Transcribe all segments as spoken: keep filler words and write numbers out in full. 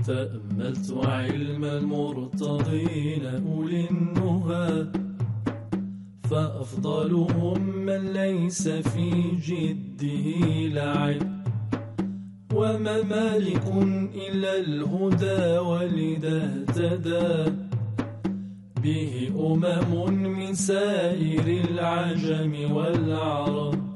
تأملت علم المرتضين أولي النهى، فأفضلهم من ليس في جده لعب، وما مالك إلا الهدى ولذا اهتدى به أمم من سائر العجم والعرب.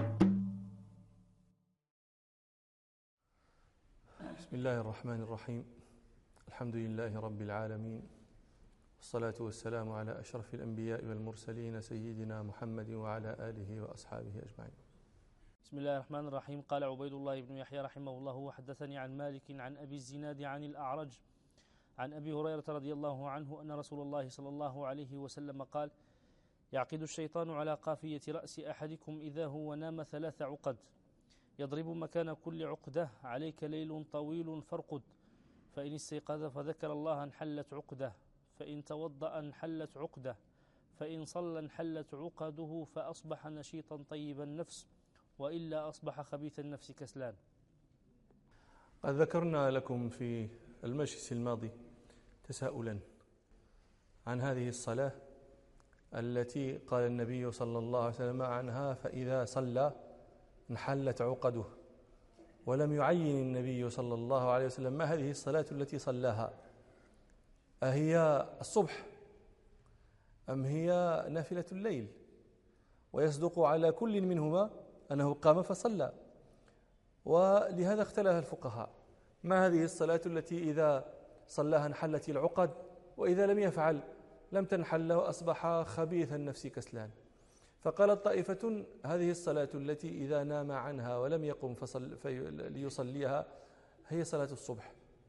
بسم الله الرحمن الرحيم. الحمد لله رب العالمين، والصلاة والسلام على أشرف الأنبياء والمرسلين سيدنا محمد وعلى آله وأصحابه أجمعين. بسم الله الرحمن الرحيم. قال عبيد الله بن يحيى رحمه الله: وحدثني عن مالك عن أبي الزناد عن الأعرج عن أبي هريرة رضي الله عنه أن رسول الله صلى الله عليه وسلم قال: يعقد الشيطان على قافية رأس أحدكم إذا هو نام ثلاث عقد، يضرب مكان كل عقدة: عليك ليل طويل فارقد، فإن استيقظ فذكر الله انحلت عقدة، فإن توضأ انحلت عقدة، فإن صلى انحلت عقده، فأصبح نشيطا طيب النفس، وإلا أصبح خبيث النفس كسلان. قد ذكرنا لكم في المجلس الماضي تساؤلا عن هذه الصلاة التي قال النبي صلى الله عليه وسلم عنها: فإذا صلى انحلت عقده. ولم يعين النبي صلى الله عليه وسلم ما هذه الصلاة التي صلاها، أهي الصبح أم هي نافلة الليل؟ ويصدق على كل منهما أنه قام فصلى. ولهذا اختلف الفقهاء: ما هذه الصلاة التي إذا صلاها انحلت العقد، وإذا لم يفعل لم تنحل وأصبح خبيث النفس كسلان؟ فقالت طائفة: هذه الصلاة التي إذا نام عنها ولم يقم فصل في ليصليها هي صلاة الصبح.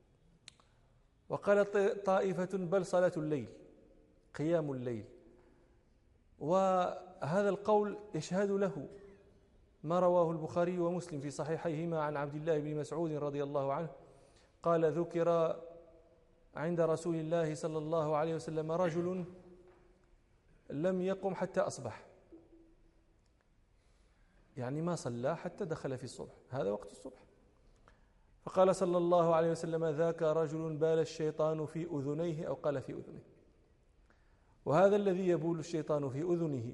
وقالت طائفة: بل صلاة الليل، قيام الليل. وهذا القول يشهد له ما رواه البخاري ومسلم في صحيحيهما عن عبد الله بن مسعود رضي الله عنه قال: ذكر عند رسول الله صلى الله عليه وسلم رجل لم يقم حتى أصبح، يعني ما صلى حتى دخل في الصبح، هذا وقت الصبح. فقال صلى الله عليه وسلم: ذاك رجل بال الشيطان في أذنيه، أو قال في أذنه. وهذا الذي يبول الشيطان في أذنه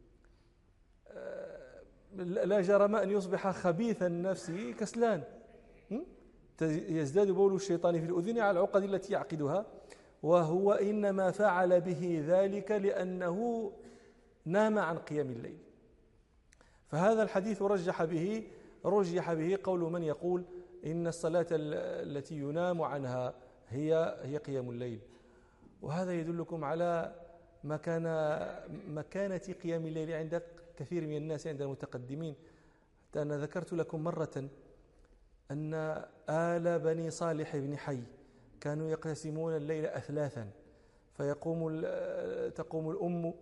لا جرم أن يصبح خبيث النفس كسلان، يزداد بول الشيطان في الأذن على العقد التي يعقدها، وهو إنما فعل به ذلك لأنه نام عن قيام الليل. فهذا الحديث رجح به رجح به قول من يقول إن الصلاة التي ينام عنها هي هي قيام الليل. وهذا يدلكم على مكان مكانة قيام الليل عند كثير من الناس، عند المتقدمين. حتى أنا ذكرت لكم مرة أن آل بني صالح بن حي كانوا يقسمون الليل أثلاثا، فيقوم تقوم الأم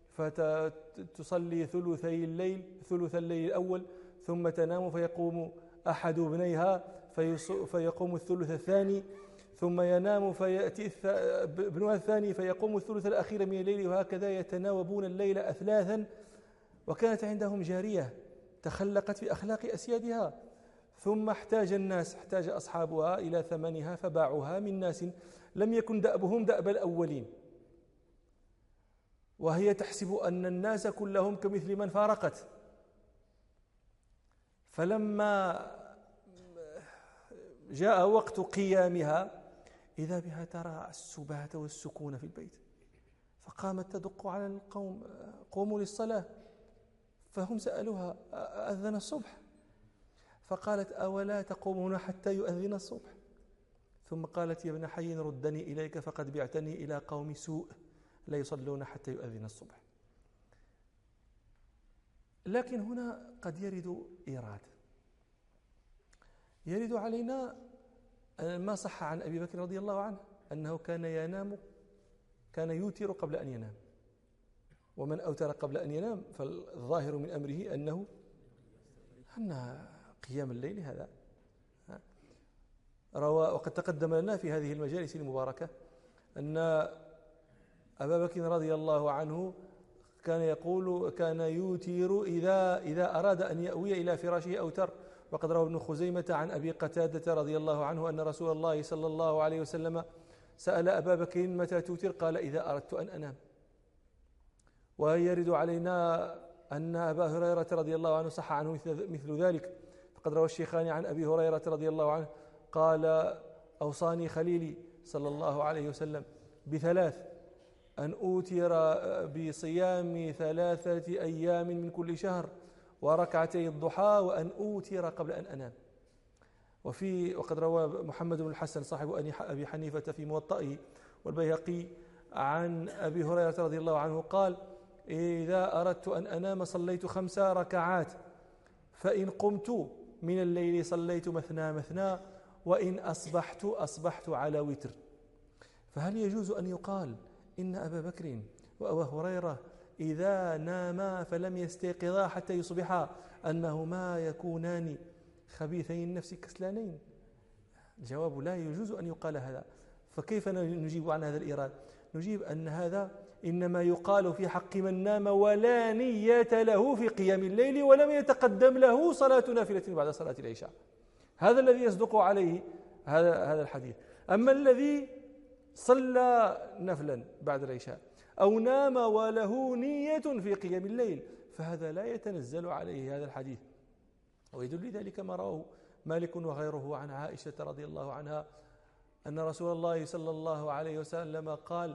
فتصلي ثلثي الليل ثلث الليل الأول، ثم تنام فيقوم أحد ابنيها فيقوم الثلث الثاني، ثم ينام فيأتي ابنها الثاني فيقوم الثلث الأخير من الليل، وهكذا يتناوبون الليل أثلاثا. وكانت عندهم جارية تخلقت في أخلاق أسيادها، ثم احتاج الناس احتاج أصحابها إلى ثمنها فباعوها من ناس لم يكن دأبهم دأب الأولين، وهي تحسب أن الناس كلهم كمثل من فارقت. فلما جاء وقت قيامها إذا بها ترى السبات والسكون في البيت، فقامت تدق على القوم: قوموا للصلاة. فهم سألوها: أذن الصبح؟ فقالت: أولا تقومون حتى يؤذن الصبح؟ ثم قالت: يا ابن حي ردني إليك فقد بعتني إلى قوم سوء لا يصلون حتى يؤذن الصبح. لكن هنا قد يرد إيراد يرد علينا ما صح عن أبي بكر رضي الله عنه أنه كان ينام كان يوتر قبل أن ينام، ومن أوتر قبل أن ينام فالظاهر من أمره أنه أن قيام الليل هذا روى. وقد تقدم لنا في هذه المجالس المباركة أن أبا بكر رضي الله عنه كان يقول كان يوتر إذا إذا أراد أن يأوي إلى فراشه أوتر، وقد روى ابن خزيمة عن أبي قتادة رضي الله عنه أن رسول الله صلى الله عليه وسلم سأل أبا بكر متى توتر؟ قال إذا أردت أن أنام. ويرد علينا أن أبا هريرة رضي الله عنه صح عنه مثل ذلك، فقد روى الشيخان عن أبي هريرة رضي الله عنه قال أوصاني خليلي صلى الله عليه وسلم بثلاث: أن أوتر بصيام ثلاثة أيام من كل شهر وركعتي الضحى، وأن أوتر قبل أن أنام. وفي وقد روى محمد بن الحسن صاحب أبي حنيفة في موطئه والبيهقي عن أبي هريرة رضي الله عنه قال: إذا أردت أن أنام صليت خمس ركعات، فإن قمت من الليل صليت مثنى مثنى، وإن أصبحت أصبحت على وتر. فهل يجوز أن يقال إن أبا بكر وأبا هريرة إذا ناما فلم يستيقظا حتى يصبحا أنهما يكونان خبيثي النفس كسلانين؟ الجواب: لا يجوز أن يقال هذا. فكيف نجيب عن هذا الإيراد؟ نجيب أن هذا إنما يقال في حق من نام ولا نية له في قيام الليل ولم يتقدم له صلاة نافلة بعد صلاة العشاء. هذا الذي يصدق عليه هذا هذا الحديث. أما الذي صلى نفلا بعد العشاء أو نام وله نية في قيام الليل فهذا لا يتنزل عليه هذا الحديث. ويدل ذلك ما رواه مالك وغيره عن عائشة رضي الله عنها أن رسول الله صلى الله عليه وسلم قال: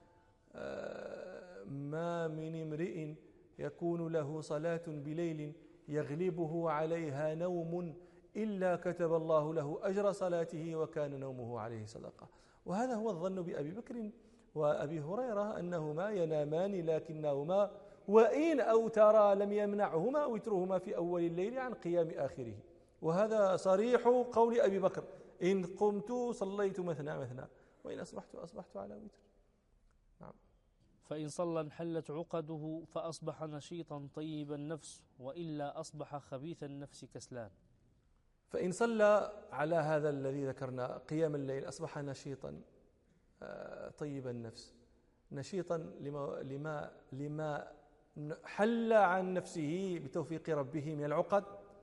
ما من امرئ يكون له صلاة بليل يغلبه عليها نوم إلا كتب الله له أجر صلاته وكان نومه عليه صدقة. وهذا هو الظن بأبي بكر وأبي هريرة أنهما ينامان، لكنهما وإن أوترا لم يمنعهما وترهما في أول الليل عن قيام آخره. وهذا صريح قول أبي بكر: إن قمت صليت مثنى مثنى، وإن أصبحت أصبحت على وتر. نعم. فإن صلى انحلت عقده فأصبح نشيطا طيب النفس، وإلا أصبح خبيث النفس كسلان. فإن صلى على هذا الذي ذكرنا قيام الليل أصبح نشيطا طيب النفس، نشيطا لما, لما, لما حل عن نفسه بتوفيق ربه من العقد،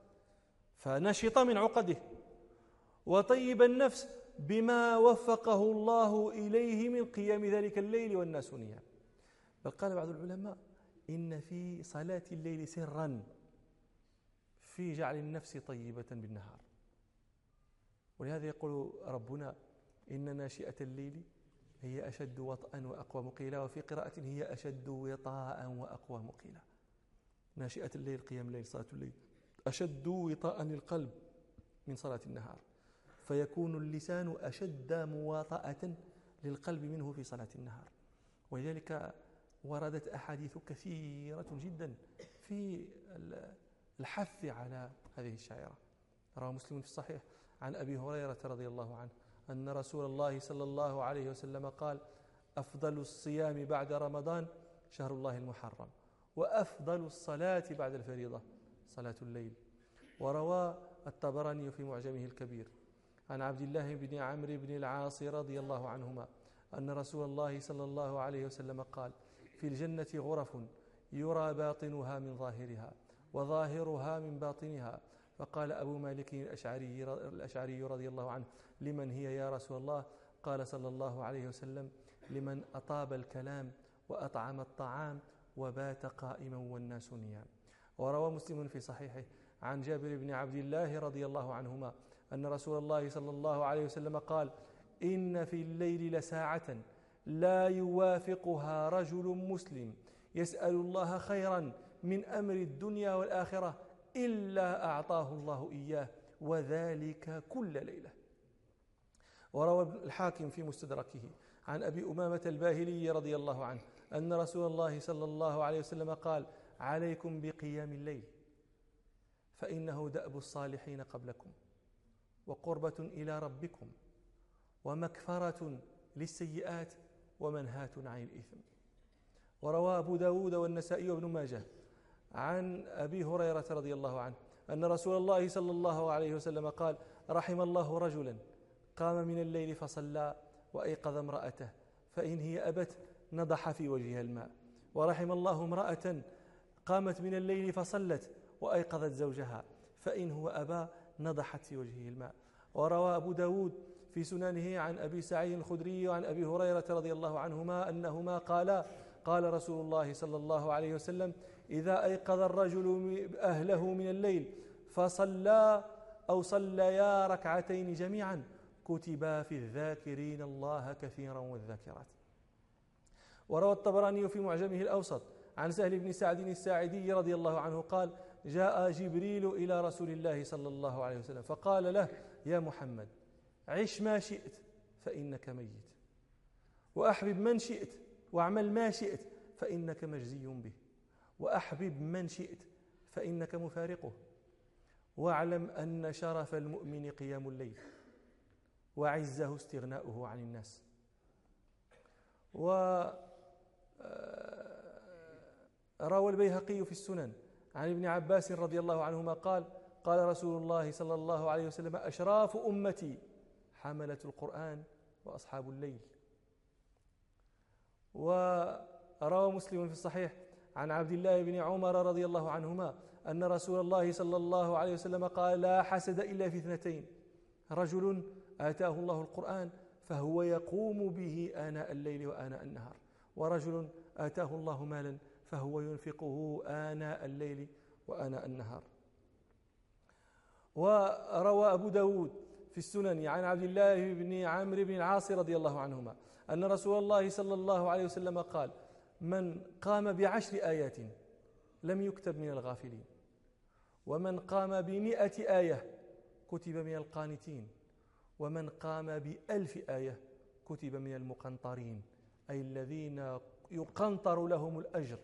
فنشط من عقده، وطيب النفس بما وفقه الله إليه من قيام ذلك الليل والناس نيام. بل قال بعض العلماء: إن في صلاة الليل سرا في جعل النفس طيبة بالنهار. ولهذا يقول ربنا: إن ناشئة الليل هي أشد وطئا وأقوى مقيلا، وفي قراءة هي أشد وطاء وأقوى مقيلا. ناشئة الليل قيام الليل صلاة الليل أشد وطاء للقلب من صلاة النهار، فيكون اللسان أشد مواطأة للقلب منه في صلاة النهار. ولذلك وردت أحاديث كثيرة جدا في الحث على هذه الشعيرة. رواه مسلم في الصحيح عن أبي هريرة رضي الله عنه أن رسول الله صلى الله عليه وسلم قال: أفضل الصيام بعد رمضان شهر الله المحرم، وأفضل الصلاة بعد الفريضة صلاة الليل. وروى الطبراني في معجمه الكبير عن عبد الله بن عمرو بن العاص رضي الله عنهما أن رسول الله صلى الله عليه وسلم قال: في الجنة غرف يرى باطنها من ظاهرها وظاهرها من باطنها. فقال أبو مالك الأشعري, الأشعري رضي الله عنه: لمن هي يا رسول الله؟ قال صلى الله عليه وسلم: لمن أطاب الكلام وأطعم الطعام وبات قائما والناس نيام. وروى مسلم في صحيحه عن جابر بن عبد الله رضي الله عنهما أن رسول الله صلى الله عليه وسلم قال: إن في الليل لساعة لا يوافقها رجل مسلم يسأل الله خيرا من أمر الدنيا والآخرة إلا أعطاه الله إياه، وذلك كل ليلة. وروى الحاكم في مستدركه عن أبي أمامة الباهلي رضي الله عنه أن رسول الله صلى الله عليه وسلم قال: عليكم بقيام الليل فإنه دأب الصالحين قبلكم، وقربة إلى ربكم، ومكفرة للسيئات، ومنهاة عن الإثم. وروى أبو داود والنسائي وابن ماجه عن أبي هريرة رضي الله عنه أن رسول الله صلى الله عليه وسلم قال: رحم الله رجلا قام من الليل فصلى وأيقظ امرأته، فإن هي أبت نضح في وجهها الماء. ورحم الله امرأة قامت من الليل فصلت وأيقظت زوجها، فإن هو أبى نضحت في وجهه الماء. وروى أبو داود في سننه عن أبي سعيد الخدري وعن أبي هريرة رضي الله عنهما أنهما قالا قال رسول الله صلى الله عليه وسلم: إذا أيقظ الرجل أهله من الليل فصلى أو صليا ركعتين جميعا كتبا في الذاكرين الله كثيرا والذاكرات. وروى الطبراني في معجمه الأوسط عن سهل بن سعد الساعدي رضي الله عنه قال: جاء جبريل إلى رسول الله صلى الله عليه وسلم فقال له: يا محمد، عش ما شئت فإنك ميت، وأحبب من شئت واعمل ما شئت فإنك مجزي به، وأحبب من شئت فإنك مفارقه، واعلم أن شرف المؤمن قيام الليل وعزه استغناؤه عن الناس. وروى البيهقي في السنن عن ابن عباس رضي الله عنهما قال: قال رسول الله صلى الله عليه وسلم: أشراف أمتي حملة القرآن وأصحاب الليل. وروى مسلم في الصحيح عن عبد الله بن عمر رضي الله عنهما أن رسول الله صلى الله عليه وسلم قال: لا حسد إلا في اثنتين: رجل آتاه الله القرآن فهو يقوم به آناء الليل وآناء النهار، ورجل آتاه الله مالا فهو ينفقه آناء الليل وآناء النهار. وروى أبو داود في السنن عن عبد الله بن عمرو بن العاص رضي الله عنهما أن رسول الله صلى الله عليه وسلم قال: من قام بعشر آيات لم يكتب من الغافلين، ومن قام بمئة آية كتب من القانتين، ومن قام بألف آية كتب من المقنطرين، أي الذين يقنطر لهم الأجر.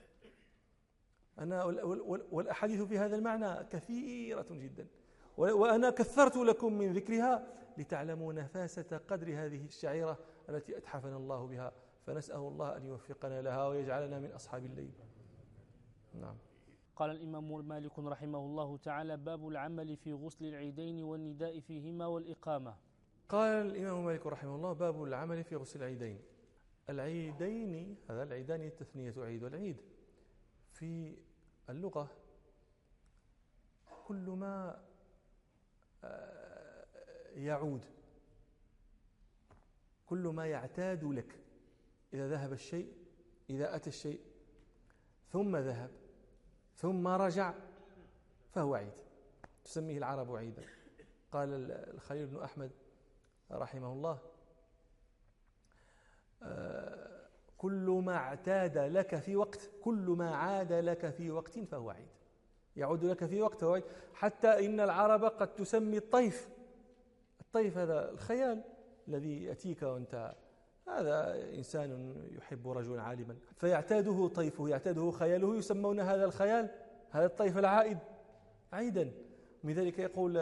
أنا والأحاديث في هذا المعنى كثيرة جدا، وأنا كثرت لكم من ذكرها لتعلموا نفاسة قدر هذه الشعيرة التي أتحفنا الله بها، فنسأل الله أن يوفقنا لها ويجعلنا من أصحاب الليل. نعم. قال الإمام مالك رحمه الله تعالى: باب العمل في غسل العيدين والنداء فيهما والإقامة. قال الإمام مالك رحمه الله: باب العمل في غسل العيدين. العيدين، هذا العيدان التثنية عيد والعيد في اللغة كل ما يعود، كل ما يعتاد لك. إذا ذهب الشيء، إذا أتى الشيء ثم ذهب ثم رجع فهو عيد، تسميه العرب عيدا. قال الخليل بن أحمد رحمه الله: كل ما اعتاد لك في وقت، كل ما عاد لك في وقت فهو عيد، يعود لك في وقت فهو عيد. حتى إن العرب قد تسمي الطيف، الطيف هذا الخيال الذي يأتيك وأنت هذا إنسان يحب رجلا عالما فيعتاده طيفه، يعتاده خياله، يسمون هذا الخيال، هذا الطيف العائد عيدا. من ذلك يقول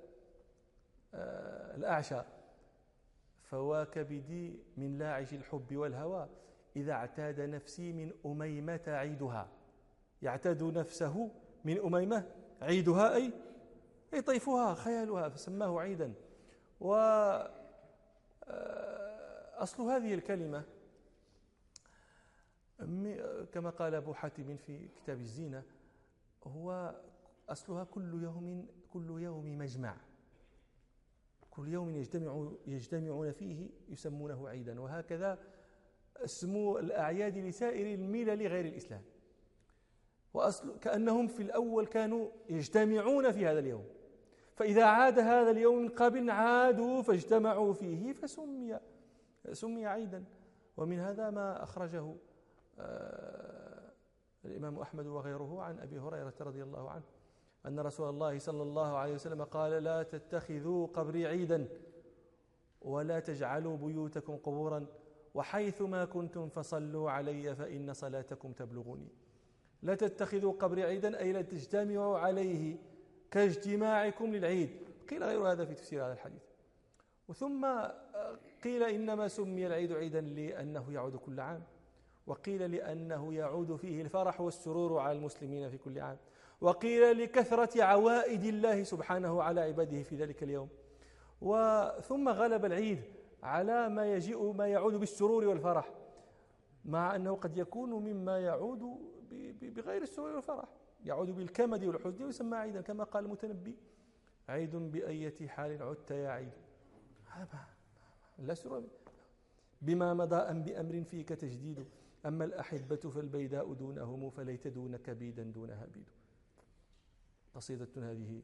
الأعشى: فواكبدي من لاعج الحب والهوى إذا اعتاد نفسي من أميمة عيدها. يعتاد نفسه من أميمة عيدها، أي أي طيفها خيالها، فسماه عيدا. و أصل هذه الكلمة كما قال أبو حاتم في كتاب الزينة هو أصلها كل يوم، كل يوم مجمع، كل يوم يجتمع يجتمعون فيه يسمونه عيدا. وهكذا اسموا الأعياد لسائر الملل غير الإسلام، وأصل كأنهم في الأول كانوا يجتمعون في هذا اليوم، فإذا عاد هذا اليوم من قبل عادوا فاجتمعوا فيه فسمي سمي عيدا. ومن هذا ما أخرجه الإمام أحمد وغيره عن أبي هريرة رضي الله عنه أن رسول الله صلى الله عليه وسلم قال: لا تتخذوا قبري عيدا ولا تجعلوا بيوتكم قبورا وحيثما كنتم فصلوا علي فإن صلاتكم تبلغني. لا تتخذوا قبري عيدا أي لا تجتمعوا عليه كاجتماعكم للعيد. قيل غير هذا في تفسير هذا الحديث. وثم قيل إنما سمي العيد عيدا لأنه يعود كل عام، وقيل لأنه يعود فيه الفرح والسرور على المسلمين في كل عام، وقيل لكثرة عوائد الله سبحانه على عباده في ذلك اليوم. وثم غلب العيد على ما يجيء ما يعود بالسرور والفرح، مع أنه قد يكون مما يعود بغير السرور والفرح، يعود بالكمد والحزن ويسمى عيدا كما قال المتنبي: عيد بأية حال عدت يا عيد. لا سر بما مضى أم بأمر فيك تجديد، أما الأحبة فالبيداء دونهم، فليت دونك بيدا دونها بيد. قصيدة هذه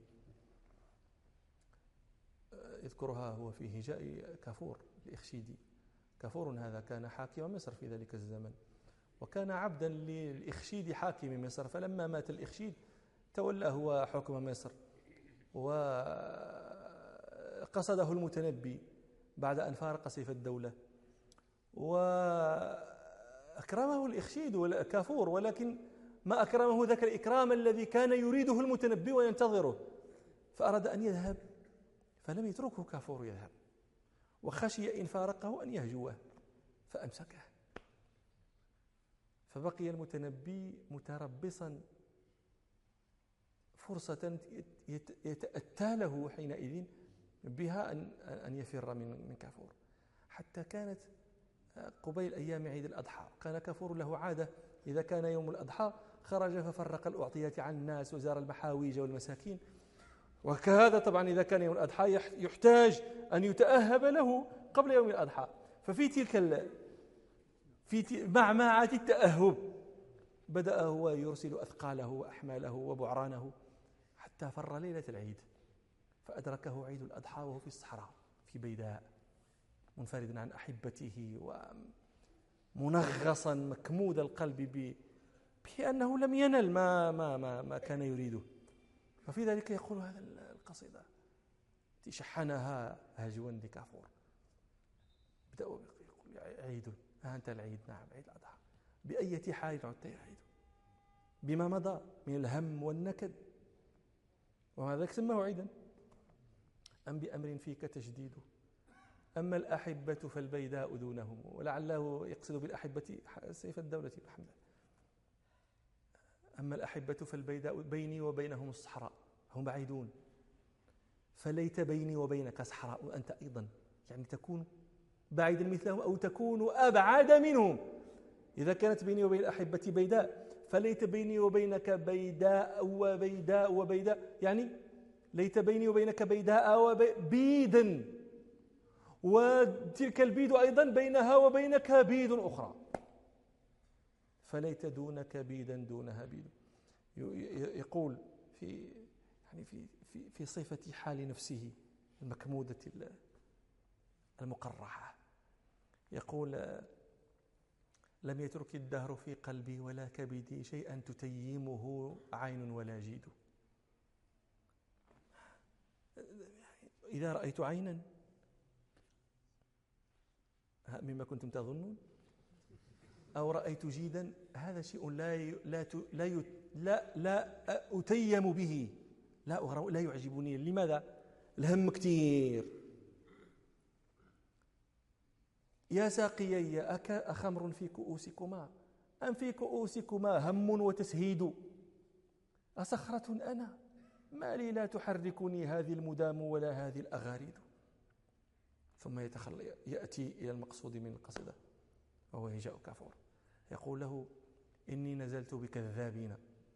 يذكرها هو في هجاء كافور الإخشيدي. كافور هذا كان حاكم مصر في ذلك الزمن، وكان عبدا للإخشيد حاكم مصر، فلما مات الإخشيد تولى هو حكم مصر، وقصده المتنبي بعد أن فارق سيف الدولة، وأكرمه الإخشيد والكافور، ولكن ما أكرمه ذاك الإكرام الذي كان يريده المتنبي وينتظره، فأراد أن يذهب فلم يتركه كافور يذهب، وخشي إن فارقه أن يهجوه فأمسكه، فبقي المتنبي متربصا فرصة يتأتى له حينئذ بها أن أن يفر من من كافور، حتى كانت قبيل أيام عيد الأضحى كان كافور له عادة إذا كان يوم الأضحى خرج ففرق الأعطيات عن الناس وزار المحاويج والمساكين، وكهذا طبعا إذا كان يوم الأضحى يحتاج أن يتأهب له قبل يوم الأضحى، ففي تلك في معمعة التأهب بدأ هو يرسل أثقاله وأحماله وبعرانه حتى فر ليلة العيد، فأدركه عيد الأضحى وهو في الصحراء في بيداء منفردا عن أحبته ومنغصا مكمود القلب بأنه لم ينل ما, ما, ما, ما كان يريده. ففي ذلك يقول هذا القصيدة تشحنها هجوا لكافور، بدأوا يقول عيد، ها أنت العيد، نعم عيد الأضحى، بأية حال عدت يا عيد، بما مضى من الهم والنكد، وهذا سماه عيدا، أم بأمر فيك تجديد، أما الأحبة فالبيداء دونهم، ولعله يقصد بالأحبة سيف الدولة الحمد لله. أما الأحبة فالبيداء بيني وبينهم الصحراء، هم بعيدون، فليت بيني وبينك صحراء وأنت أيضا، يعني تكون بعيدا مثلهم أو تكون أبعد منهم. إذا كانت بيني وبين الأحبة بيداء فليت بيني وبينك بيداء وبيداء وبيداء، يعني ليت بيني وبينك بيداء وبيدا، وتلك البيد أيضا بينها وبينك بيد أخرى، فليت دونك بيدا دونها بيد. يقول في يعني في في في صفة حال نفسه المكمودة المقرحة، يقول لم يترك الدهر في قلبي ولا كبدي شيئا تتيمه عين ولا جيد. إذا رأيت عينا مما كنتم تظنون أو رأيت جيدا، هذا شيء لا لا لا لا, لا أتيم به، لا لا يعجبني. لماذا؟ الهم كثير. يا ساقيي أخمر في كؤوسكما أم في كؤوسكما هم وتسهيد، أصخرة أنا ما لي لا تحركني هذه المدام ولا هذه الأغاريد. ثم يتخلى يأتي إلى المقصود من القصيدة وهو هجاء كافور، يقول له إني نزلت بكذابين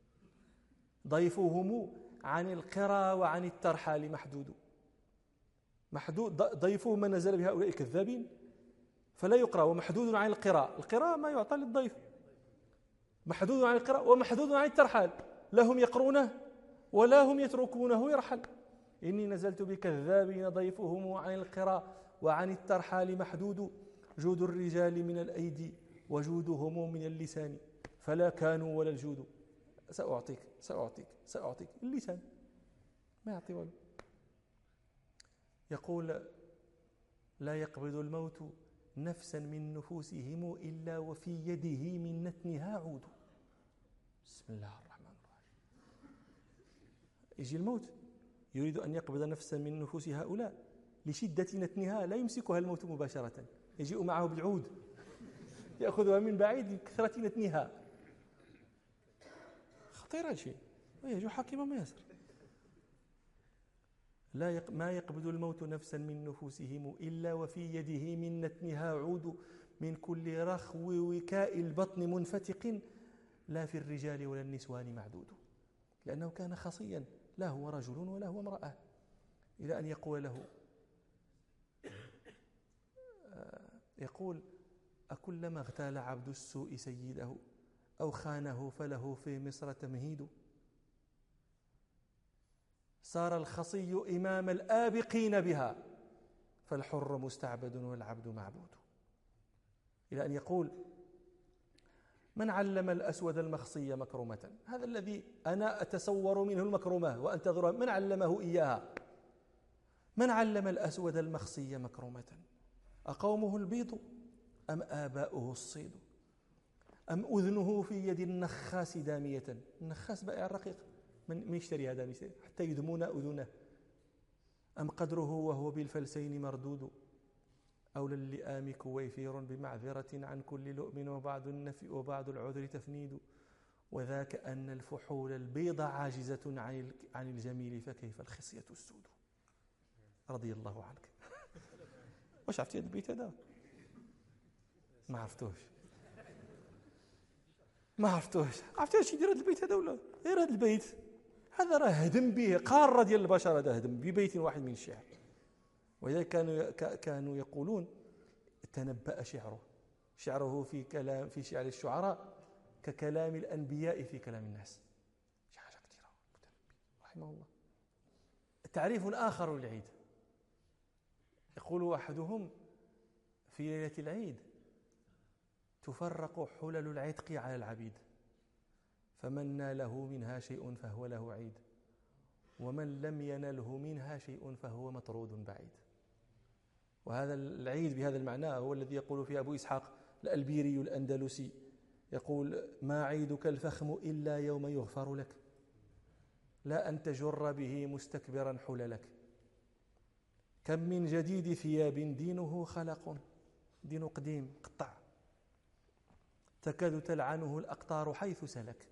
ضيفهم عن القرى وعن الترحال محدود. محدود ضيفه من نزل بهؤلاء الكذابين فلا يقرأ، ومحدود عن القراء، القراء ما يعطى للضيف، محدود عن القراء ومحدود عن الترحال، لا هم يقرونه ولا هم يتركونه يرحل. إني نزلت بكذابين ضيفهم عن القراء وعن الترحال محدود، جود الرجال من الأيدي وجودهم من اللسان، فلا كانوا ولا الجود. سأعطيك سأعطيك سأعطيك اللسان ما يعطي ولا. يقول لا يقبض الموت نفسا من نفوسهم إلا وفي يده من نتنها عود. بسم الله الرحمن الرحيم. يجي الموت يريد أن يقبض نفسا من نفوس هؤلاء، لشدة نتنها لا يمسكها الموت مباشرة، يجيء معه بالعود يأخذها من بعيد لكثرة نتنها. خطير هذا الشيء، ويجو حاكم ما يسر. لا يق... ما يقبض الموت نفسا من نفوسهم إلا وفي يده من نتنها عود، من كل رخو وكاء البطن منفتق، لا في الرجال ولا النسوان معدود. لأنه كان خصيا، لا هو رجل ولا هو امرأة، إلى أن يقول له يقول: أكلما اغتال عبد السوء سيده أو خانه فله في مصر تمهيد. صار الخصي إمام الآبقين بها فالحر مستعبد والعبد معبود. إلى أن يقول: من علم الأسود المخصي مكرمة، هذا الذي أنا أتصور منه المكرمة وأنتظرها، من علمه إياها؟ من علم الأسود المخصي مكرمة، أقومه البيض أم آباؤه الصيد، أم أذنه في يد النخاس دامية؟ النخاس بائع الرقيق، من يشتري هذا حتى يدمون أذنه. أم قدره وهو بالفلسين مردود، أو للئام كويفير بمعذرة عن كل لؤم وبعض النفي وبعض العذر تفنيد، وذاك أن الفحول البيض عاجزة عن الجميل فكيف الخصية السود. رضي الله عنك. واش عرفتي هذا البيت هذا؟ ما عرفتوش ما عرفتوش عرفتي اش يدير هذا البيت هذا ولا غير هذا البيت هذا؟ راه هدم به قاره ديال البشر، هذا هدم ببيت واحد من الشعر. ولذلك كانوا كانوا يقولون: تنبأ شعره شعره في كلام في شعر الشعراء ككلام الأنبياء في كلام الناس. شي حاجه كثيره. رحمه الله. تعريف آخر للعيد، يقول أحدهم: في ليلة العيد تفرق حلل العتق على العبيد، فمن ناله منها شيء فهو له عيد، ومن لم ينله منها شيء فهو مطرود بعيد. وهذا العيد بهذا المعنى هو الذي يقول فيه أبو إسحاق الألبيري الأندلسي، يقول: ما عيدك الفخم إلا يوم يغفر لك، لا أن تجر به مستكبرا حللك. كم من جديد ثياب دينه خلق، دين قديم قطع، تكاد تلعنه الأقطار حيث سلك.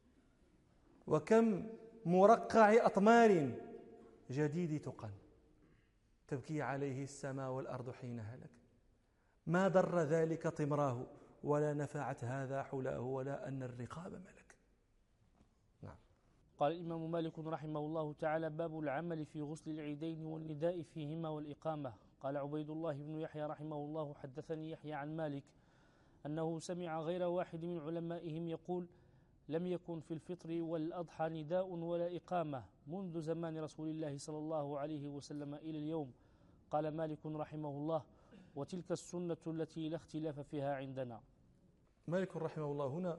وكم مرقع أطمار جديد تقن، تبكي عليه السماء والأرض حين هلك. ما ضر ذلك طمراه، ولا نفعت هذا حلاه، ولا أن الرقاب ملك. نعم. قال الإمام مالك رحمه الله تعالى: باب العمل في غسل العيدين والنداء فيهما والإقامة. قال عبيد الله بن يحيى رحمه الله: حدثني يحيى عن مالك أنه سمع غير واحد من علمائهم يقول: لم يكن في الفطر والأضحى نداء ولا إقامة منذ زمان رسول الله صلى الله عليه وسلم إلى اليوم. قال مالك رحمه الله: وتلك السنة التي لا اختلاف فيها عندنا. مالك رحمه الله هنا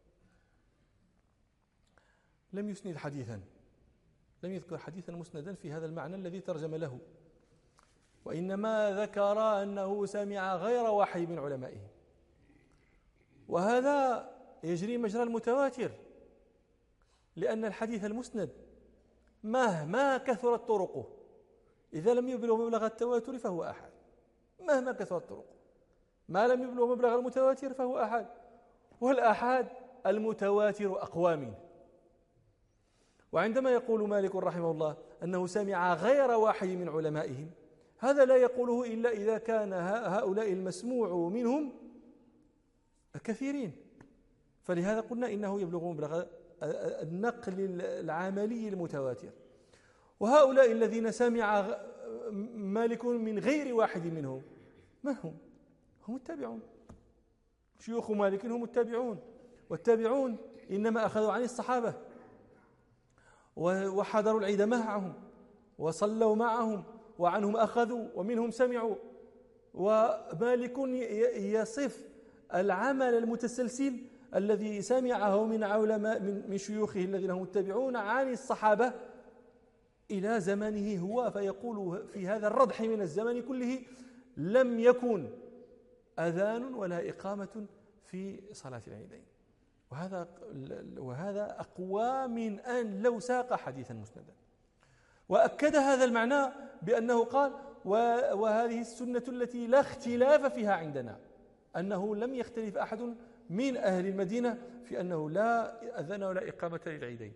لم يسند حديثا، لم يذكر حديثا مسندا في هذا المعنى الذي ترجم له، وإنما ذكر أنه سمع غير واحد من علمائه. وهذا يجري مجرى المتواتر، لأن الحديث المسند مهما كثرت طرقه إذا لم يبلغ مبلغ التواتر فهو أحد. مهما كثرت طرقه ما لم يبلغ مبلغ المتواتر فهو أحد، والأحاد المتواتر أقوى منه. وعندما يقول مالك رحمه الله أنه سمع غير واحد من علمائهم، هذا لا يقوله إلا إذا كان هؤلاء المسموع منهم كثيرين، فلهذا قلنا إنه يبلغ مبلغ النقل العملي المتواتر. وهؤلاء الذين سمع مالك من غير واحد منهم من هم؟ هم التابعون. شيوخ مالك هم التابعون، والتابعون إنما أخذوا عن الصحابة وحضروا العيد معهم وصلوا معهم، وعنهم أخذوا ومنهم سمعوا. ومالك يصف العمل المتسلسل الذي سمعه من علماء من شيوخه الذين هم التابعون عن الصحابة إلى زمنه هو، فيقول في هذا الردح من الزمن كله: لم يكن أذان ولا إقامة في صلاة العيدين. وهذا وهذا أقوى من أن لو ساق حديثا مسندا. وأكد هذا المعنى بأنه قال: وهذه السنة التي لا اختلاف فيها عندنا، أنه لم يختلف أحد من أهل المدينة في أنه لا أذان ولا إقامة للعيدين.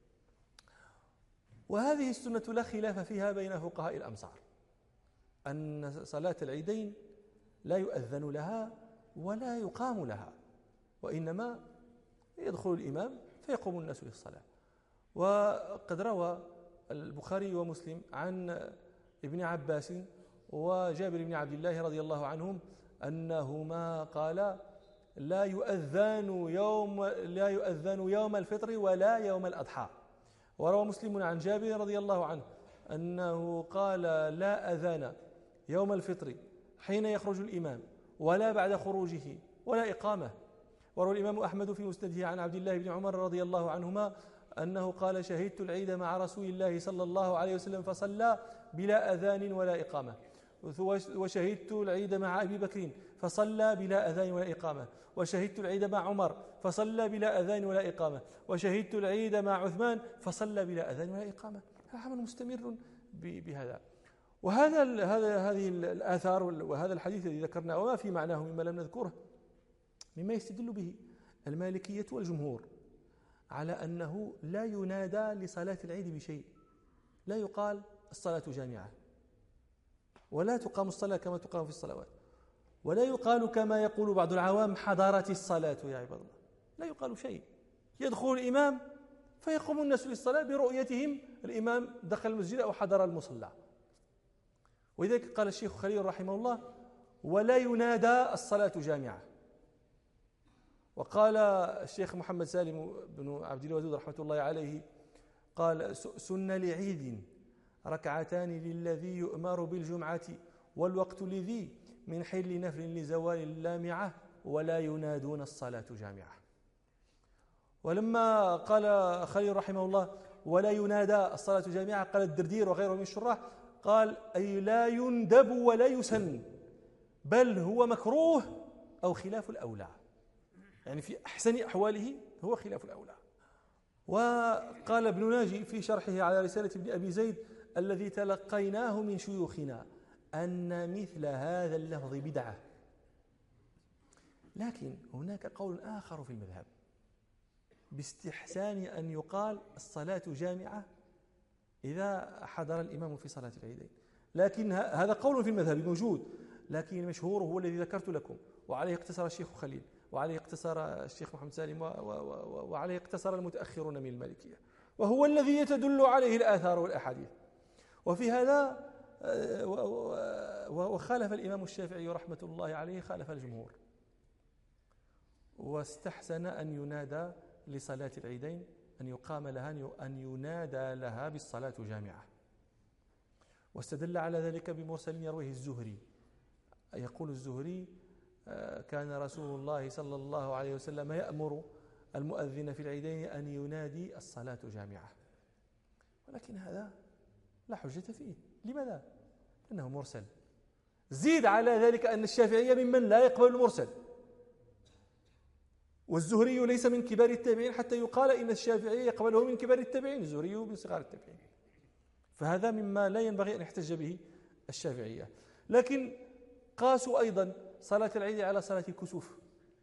وهذه السنة لا خلاف فيها بين فقهاء الأمصار، أن صلاة العيدين لا يؤذن لها ولا يقام لها، وإنما يدخل الإمام فيقوم الناس للصلاة. وقد روى البخاري ومسلم عن ابن عباس وجابر بن عبد الله رضي الله عنهم أنهما قال لا يؤذن يوم لا يؤذن يوم الفطر ولا يوم الأضحى. وروى مسلم عن جابر رضي الله عنه أنه قال لا أذان يوم الفطر حين يخرج الإمام ولا بعد خروجه ولا إقامة. وروى الإمام أحمد في مسنده عن عبد الله بن عمر رضي الله عنهما أنه قال شهدت العيد مع رسول الله صلى الله عليه وسلم فصلى بلا أذان ولا إقامة، وشهدت العيد مع أبي بكر فصلى بلا أذان ولا إقامة، وشهدت العيد مع عمر فصلى بلا أذان ولا إقامة، وشهدت العيد مع عثمان فصلى بلا أذان ولا إقامة. عمل مستمر بهذا. وهذا هذا هذه الآثار وهذا الحديث الذي ذكرناه وما في معناه مما لم نذكره مما يستدل به المالكية والجمهور على أنه لا ينادى لصلاة العيد بشيء، لا يقال الصلاة جامعة، ولا تقام الصلاة كما تقام في الصلوات، ولا يقال كما يقول بعض العوام حضرت الصلاة يا عباد الله، لا يقال شيء. يدخل الإمام فيقوم الناس للصلاة برؤيتهم الإمام دخل المسجد أو حضر المصلى. ولذلك قال الشيخ خليل رحمه الله ولا ينادى الصلاة جامعة. وقال الشيخ محمد سالم بن عبد الودود رحمة الله عليه قال سن لعيد ركعتان للذي يؤمر بالجمعة والوقت لذي من حل نفل لزوال اللامعة ولا ينادون الصلاة جامعة. ولما قال خليل رحمه الله ولا ينادى الصلاة جامعة قال الدردير وغيره من الشراح قال أي لا يندب ولا يسن بل هو مكروه أو خلاف الأولى، يعني في أحسن أحواله هو خلاف الأولى. وقال ابن ناجي في شرحه على رسالة ابن أبي زيد الذي تلقيناه من شيوخنا أن مثل هذا اللفظ بدعة، لكن هناك قول آخر في المذهب باستحسان أن يقال الصلاة جامعة إذا حضر الإمام في صلاة العيدين، لكن هذا قول في المذهب موجود، لكن المشهور هو الذي ذكرت لكم وعليه اقتصر الشيخ خليل وعليه اقتصر الشيخ محمد سالم وعليه اقتصر المتأخرون من المالكية، وهو الذي يتدل عليه الآثار والأحاديث. وفي هذا وخالف الإمام الشافعي رحمة الله عليه خالف الجمهور واستحسن أن ينادى لصلاة العيدين أن يقام لها أن ينادى لها بالصلاة جامعة. واستدل على ذلك بمرسل يرويه الزهري، يقول الزهري كان رسول الله صلى الله عليه وسلم يأمر المؤذن في العيدين أن ينادي الصلاة جامعة، ولكن هذا لا حجة فيه. لماذا؟ لأنه مرسل. زيد على ذلك أن الشافعية ممن لا يقبل المرسل، والزهري ليس من كبار التابعين حتى يقال إن الشافعي يقبله من كبار التابعين، الزهري من صغار التابعين، فهذا مما لا ينبغي أن يحتج به الشافعية. لكن قاسوا أيضا صلاة العيد على صلاة الكسوف،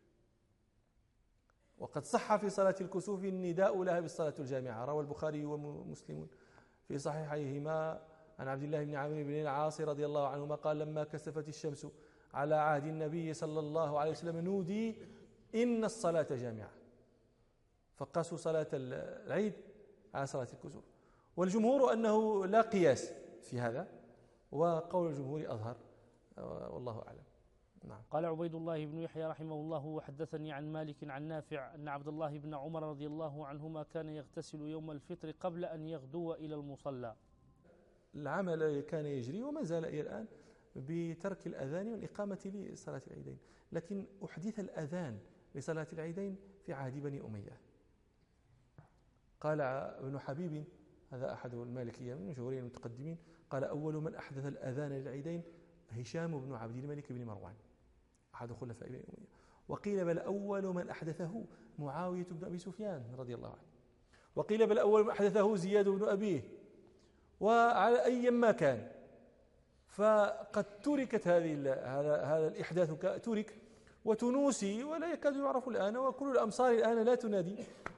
وقد صح في صلاة الكسوف النداء لها بالصلاة الجامعة. روى البخاري ومسلم في صحيحيهما عن عبد الله بن عمرو بن العاص رضي الله عنهما قال لما كسفت الشمس على عهد النبي صلى الله عليه وسلم نودي إن الصلاة جامعة، فقاسوا صلاة العيد على صلاة الكسوف. والجمهور أنه لا قياس في هذا، وقول الجمهور أظهر والله أعلم. نعم. قال عبيد الله بن يحيى رحمه الله وحدثني عن مالك عن نافع أن عبد الله بن عمر رضي الله عنهما كان يغتسل يوم الفطر قبل أن يغدو إلى المصلى. العمل كان يجري وما زال إلى الآن بترك الأذان والإقامة لصلاة العيدين، لكن أحدث الأذان لصلاة العيدين في عهد بني أمية. قال ابن حبيب هذا أحد المالكية من مشهورين المتقدمين قال أول من أحدث الأذان للعيدين هشام بن عبد الملك بن مروان أحد خلفاء بني أمية، وقيل بل أول من أحدثه معاوية بن أبي سفيان رضي الله عنه، وقيل بل أول من أحدثه زياد بن أبيه، وعلى أي ما كان فقد تركت هذه هذا هذا الإحداث ترك وتنوسي ولا يكاد يعرف الآن، وكل الأمصار الآن لا تنادي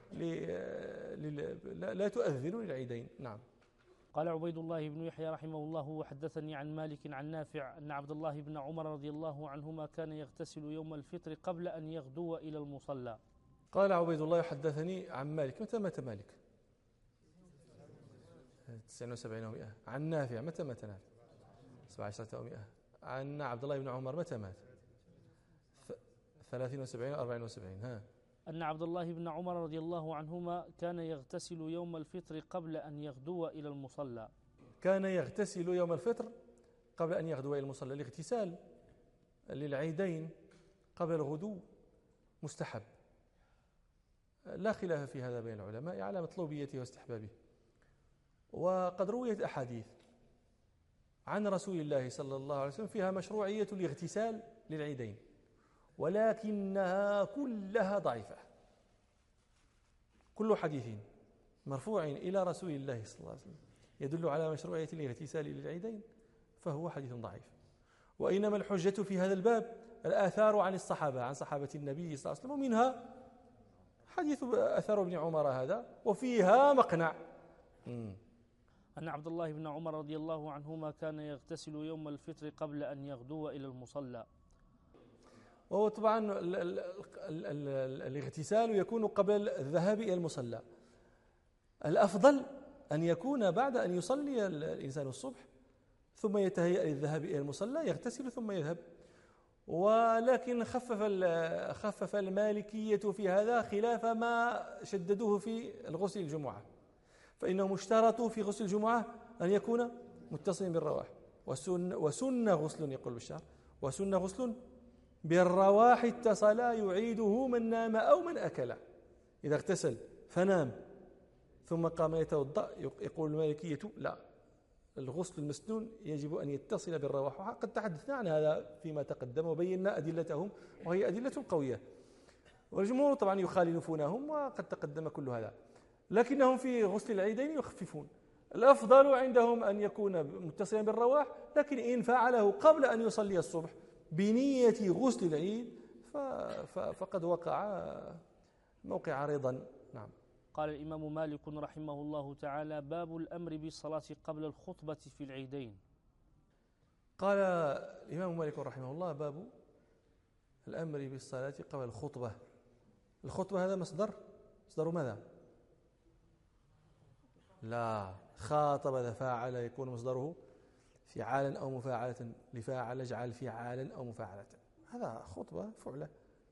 لا تؤذن للعيدين. نعم. قال عبيد الله بن يحيى رحمه الله وحدثني عن مالك عن نافع أن عبد الله بن عمر رضي الله عنهما كان يغتسل يوم الفطر قبل أن يغدو إلى المصلى. قال عبيد الله حدثني عن مالك. متى مات مالك؟ تسعين وسبعين ومئة. عن نافع متى مات نافع؟ سبع عشرة ومئة. عن عبد الله بن عمر متى مات؟ ثلاثين وسبعين وأربعين وسبعين. ها. أن عبد الله بن عمر رضي الله عنهما كان يغتسل يوم الفطر قبل أن يغدو إلى المصلى. كان يغتسل يوم الفطر قبل أن يغدو إلى المصلى. الاغتسال للعيدين قبل الغدو مستحب، لا خلاف في هذا بين العلماء على مطلوبيته واستحبابه. وقد رويت أحاديث عن رسول الله صلى الله عليه وسلم فيها مشروعية الاغتسال للعيدين، ولكنها كلها ضعيفة. كل حديث مرفوع إلى رسول الله صلى الله عليه وسلم يدل على مشروعية الاغتسال للعيدين فهو حديث ضعيف. وإنما الحجة في هذا الباب الآثار عن الصحابة، عن صحابة النبي صلى الله عليه وسلم، ومنها حديث أثر ابن عمر هذا، وفيها مقنع. م. أن عبد الله بن عمر رضي الله عنهما كان يغتسل يوم الفطر قبل أن يغدو إلى المصلى. وهو طبعا ال ال ال ال الاغتسال يكون قبل الذهاب إلى المصلى. الأفضل أن يكون بعد أن يصلي الإنسان الصبح ثم يتهيأ للذهاب إلى المصلى، يغتسل ثم يذهب. ولكن خفف خفف المالكية في هذا خلاف ما شددوه في الغسل الجمعة، فإنهم اشترطوا في غسل الجمعة أن يكون متصلا بالرواح، وسن, وسن غسل يقول بالشعر، وسن غسل بالرواح اتصلا يعيده من نام أو من أكل. إذا اغتسل فنام ثم قام يتوضأ يقول المالكية لا، الغسل المسنون يجب أن يتصل بالرواح. وقد تحدثنا عن هذا فيما تقدم وبينا أدلتهم، وهي أدلة قوية، والجمهور طبعا يخالفونهم وقد تقدم كل هذا، لكنهم في غسل العيدين يخففون. الأفضل عندهم أن يكون متصلا بالرواح، لكن إن فعله قبل أن يصلي الصبح بنية غسل العيد فقد وقع موقع رضا. نعم. قال الإمام مالك رحمه الله تعالى: باب الأمر بالصلاة قبل الخطبة في العيدين. قال الإمام مالك رحمه الله: باب الأمر بالصلاة قبل الخطبة. الخطبة هذا مصدر مصدر ماذا؟ لا، خاطب فاعل يكون مصدره فعالا أو مفاعلة، لفاعل اجعل فعالا أو مفاعلة، هذا خطبة فعلة.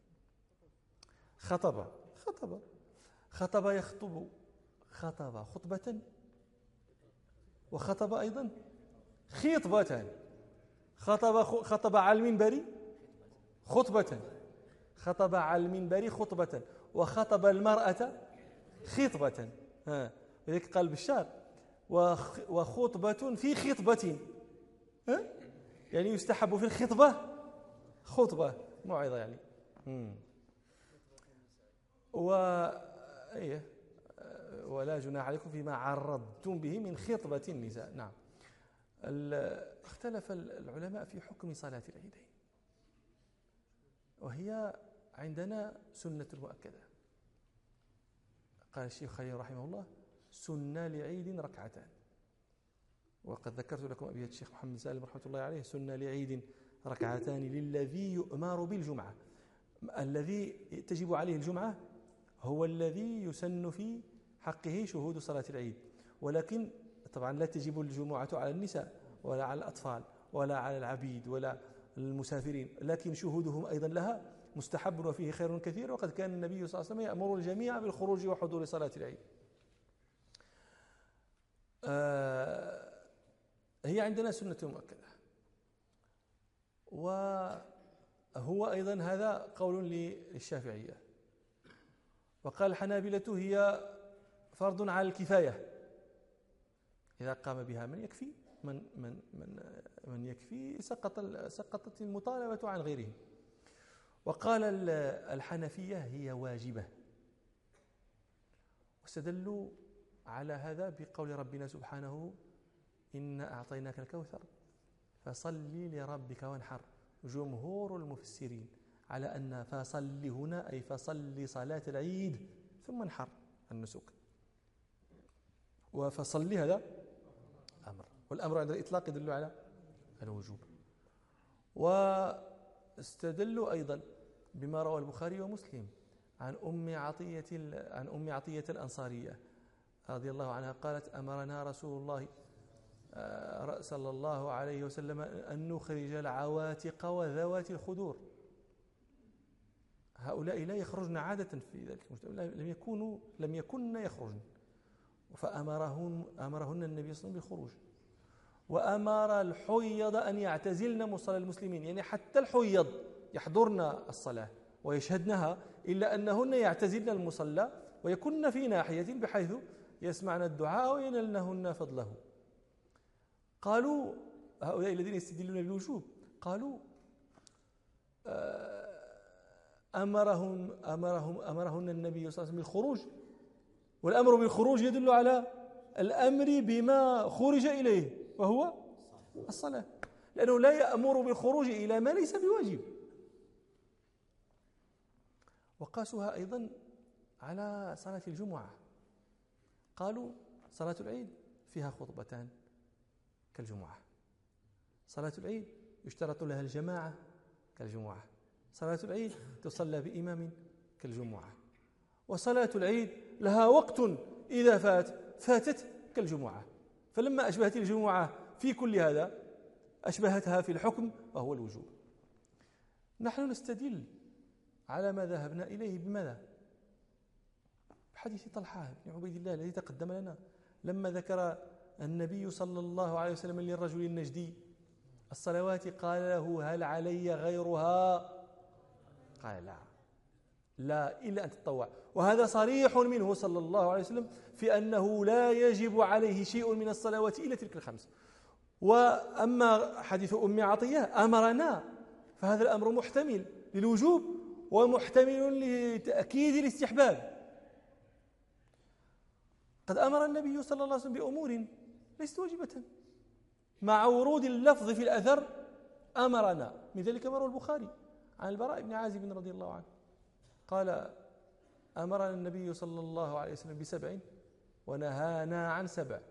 خطب خطب خطب يخطب، خطب خطبة، وخطب أيضا خطبة. خطب خطب على المنبر خطبة، خطب على المنبر خطبة، وخطب المرأة خطبة. ها، ولذلك قال بالشعر: وخطبة في خطبة، ها؟ يعني يستحب في الخطبة خطبة موعظة يعني. مم. و إيه ولا جناح عليكم فيما عرضتم به من خطبة النساء. نعم. اختلف العلماء في حكم صلاة العيدين، وهي عندنا سنة مؤكدة. قال الشيخ خليل رحمه الله: سنة لعيد ركعتان. وقد ذكرت لكم أبيات الشيخ محمد سالم رحمة الله عليه: سنة لعيد ركعتان للذي يؤمر بالجمعة. الذي تجب عليه الجمعة هو الذي يسن في حقه شهود صلاة العيد، ولكن طبعا لا تجب الجمعة على النساء ولا على الأطفال ولا على العبيد ولا المسافرين، لكن شهودهم أيضا لها مستحب وفيه خير كثير. وقد كان النبي صلى الله عليه وسلم يأمر الجميع بالخروج وحضور صلاة العيد. آه هي عندنا سنة مؤكدة، وهو أيضا هذا قول للشافعية. وقال الحنابلة: هي فرض على الكفاية، إذا قام بها من يكفي من من من من يكفي سقط سقطت المطالبة عن غيره. وقال الحنفية: هي واجبة، واستدلوا على هذا بقول ربنا سبحانه: إنا أعطيناك الكوثر فصل لربك وانحر. جمهور المفسرين على أن فصل هنا أي فصل صلاة العيد ثم انحر النسك، وفصل هذا أمر، والأمر عند الإطلاق يدل على الوجوب. واستدلوا أيضا بما روى البخاري ومسلم عن أم عطية عن أم عطية الأنصارية رضي الله عنها قالت أمرنا رسول الله صلى الله عليه وسلم أن نخرج العواتق وذوات الخدور. هؤلاء لا يخرجن عادة في ذلك المجتمع، لم يكونوا لم يكن يخرجن، فأمرهن أمرهن النبي صلى الله عليه وسلم بالخروج. وأمر الحيض أن يعتزلن مصلى المسلمين، يعني حتى الحيض يحضرن الصلاة ويشهدنها، إلا أنهن يعتزلن المصلى ويكن في ناحية بحيث يسمعن الدعاء وينلنهن فضله. قالوا هؤلاء الذين يستدلون بالوجوب قالوا أمرهم أمرهم أمرهن النبي صلى الله عليه وسلم بالخروج، والأمر بالخروج يدل على الأمر بما خرج إليه وهو الصلاة، لأنه لا يأمر بالخروج إلى ما ليس بواجب. وقاسوها أيضا على صلاة الجمعة، قالوا صلاة العيد فيها خطبتان كالجمعة، صلاة العيد يشترط لها الجماعة كالجمعة، صلاة العيد تصلى بإمام كالجمعة، وصلاة العيد لها وقت إذا فات فاتت كالجمعة. فلما أشبهت الجمعة في كل هذا أشبهتها في الحكم وهو الوجوب. نحن نستدل على ما ذهبنا إليه بماذا؟ بحديث طلحة بن عبيد الله الذي تقدم لنا، لما ذكر النبي صلى الله عليه وسلم للرجل النجدي الصلوات قال له هل علي غيرها؟ قال لا لا إلا أن تتطوع. وهذا صريح منه صلى الله عليه وسلم في أنه لا يجب عليه شيء من الصلوات إلا تلك الخمس. وأما حديث أم عطية أمرنا، فهذا الأمر محتمل للوجوب ومحتمل لتأكيد الاستحباب. قد أمر النبي صلى الله عليه وسلم بأمور ليست واجبة مع ورود اللفظ في الأثر أمرنا، من ذلك ما روى البخاري عن البراء بن عازب رضي الله عنه قال أمرنا النبي صلى الله عليه وسلم بسبع ونهانا عن سبع.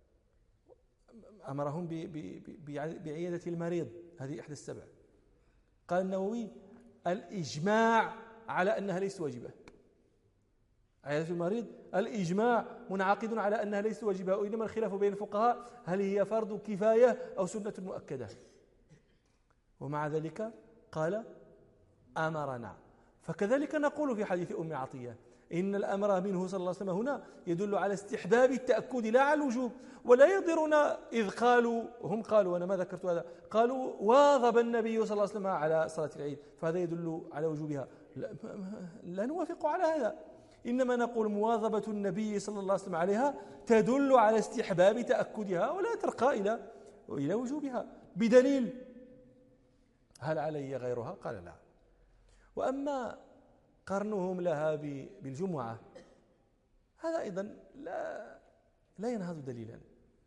أمرهم بعيادة المريض، هذه إحدى السبع. قال النووي الإجماع على أنها ليست واجبة، عيادة المريض الإجماع منعقد على أنها ليست واجبة، وإنما الخلاف بين الفقهاء هل هي فرض كفاية أو سنة مؤكدة. ومع ذلك قال أمرنا. فكذلك نقول في حديث أم عطية إن الأمر منه صلى الله عليه وسلم هنا يدل على استحباب التأكد لا على الوجوب. ولا يضرنا إذ قالوا هم قالوا أنا ما ذكرت هذا قالوا واظب النبي صلى الله عليه وسلم على صلاة العيد فهذا يدل على وجوبها. لا, لا نوافق على هذا، إنما نقول مواظبة النبي صلى الله عليه وسلم عليها تدل على استحباب تأكدها ولا ترقى إلى إلى وجوبها بدليل هل علي غيرها؟ قال لا. وأما قرنهم لها بالجمعة هذا أيضا لا لا ينهض دليلا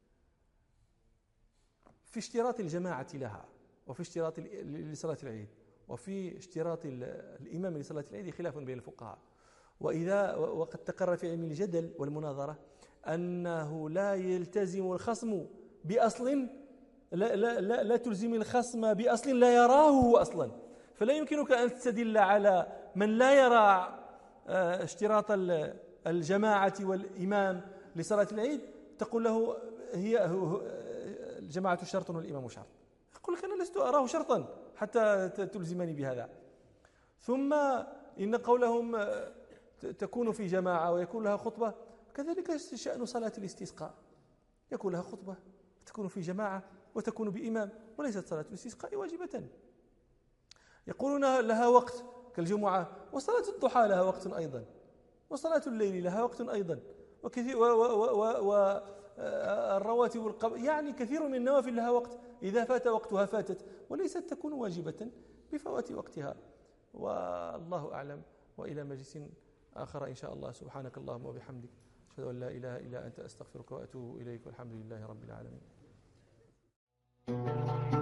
في اشتراط الجماعة لها، وفي اشتراط لصلاة العيد، وفي اشتراط الإمام لصلاة العيد خلاف بين الفقهاء. وإذا وقد تقرر في علم الجدل والمناظرة أنه لا يلتزم الخصم بأصل لا, لا, لا, لا تلزم الخصم بأصل لا يراه هو أصلا. فلا يمكنك أن تستدل على من لا يرى اشتراط الجماعة والإمام لصلاة العيد تقول له هي الجماعة شرط والإمام شرط. يقول لك أنا لست أراه شرطا حتى تلزمني بهذا. ثم إن قولهم تكون في جماعة ويكون لها خطبة كذلك شأن صلاة الاستسقاء، يكون لها خطبة تكون في جماعة وتكون بإمام، وليست صلاة الاستسقاء واجبة. يقولون لها وقت كالجمعة، وصلاة الضحى لها وقت أيضا، وصلاة الليل لها وقت أيضا، وكثير والرواتب والقب يعني كثير من النوافل لها وقت، إذا فات وقتها فاتت وليست تكون واجبة بفوات وقتها. والله أعلم، وإلى مجلس آخر إن شاء الله. سبحانك اللهم وبحمدك أشهد أن لا إله إلا أنت أستغفرك وأتوب إليك، والحمد لله رب العالمين.